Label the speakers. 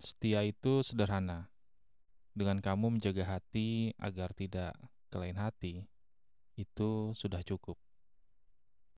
Speaker 1: Setia itu sederhana. Dengan kamu menjaga hati agar tidak ke lain hati, itu sudah cukup.